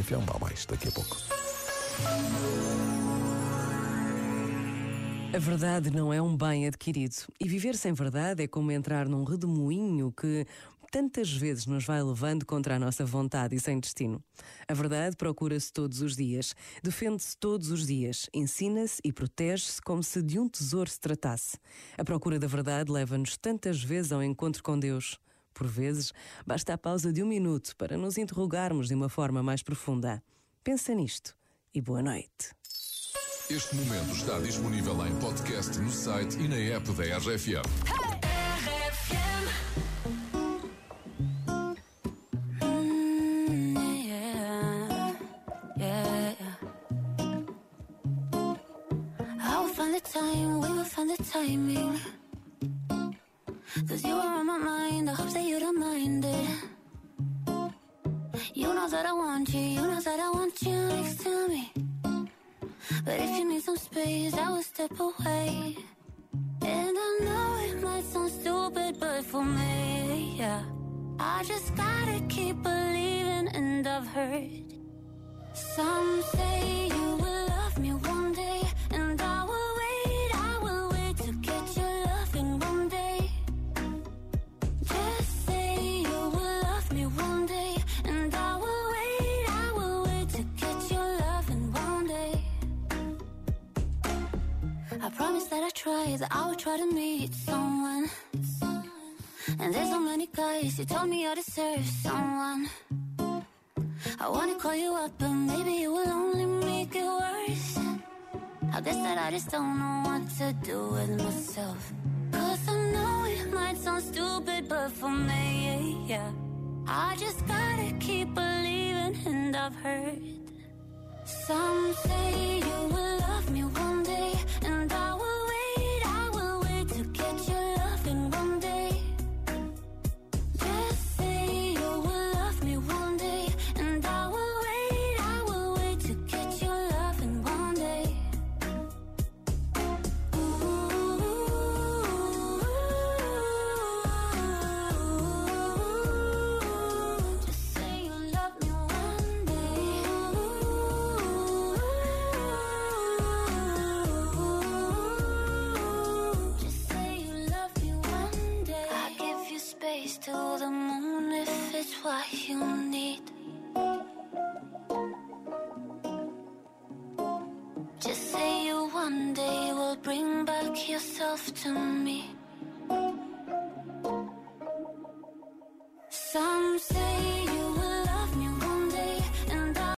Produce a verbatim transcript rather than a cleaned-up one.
F M. Há mais daqui a pouco. A verdade não é um bem adquirido. E viver sem verdade é como entrar num redemoinho que tantas vezes nos vai levando contra a nossa vontade e sem destino. A verdade procura-se todos os dias, defende-se todos os dias, ensina-se e protege-se como se de um tesouro se tratasse. A procura da verdade leva-nos tantas vezes ao encontro com Deus. Por vezes, basta a pausa de um minuto para nos interrogarmos de uma forma mais profunda. Pensa nisto e boa noite. Este momento está disponível em podcast no site e na app da R F M. Find the time, we will find the timing. Cause you are on my mind, I hope that you don't mind it. You know that I want you, you know that I want you next to me. But if you need some space, I will step away. And I know it might sound stupid, but for me, yeah, I just gotta keep believing. And I've heard some say you will love me one day, and I will wait, I will wait to get your loving one day. Just say you will love me one day, and I will wait, I will wait to get your loving one day. I promise that I try, that I will try to meet someone. And there's so many guys who told me I deserve someone. I wanna call you up, but maybe it will only make it worse. I guess that I just don't know what to do with myself. Cause I know it might sound stupid, but for me, yeah, I just gotta keep believing. And I've heard some say you will love me one day, and I will wait, I will wait to get your loving one day. Just say you will love me one day, and I will wait, I will wait to get your loving one day. Ooh, just say you love me one day. Just say you love me one day. I give you space to the moon if it's what you need. Just say you one day will bring back yourself to me.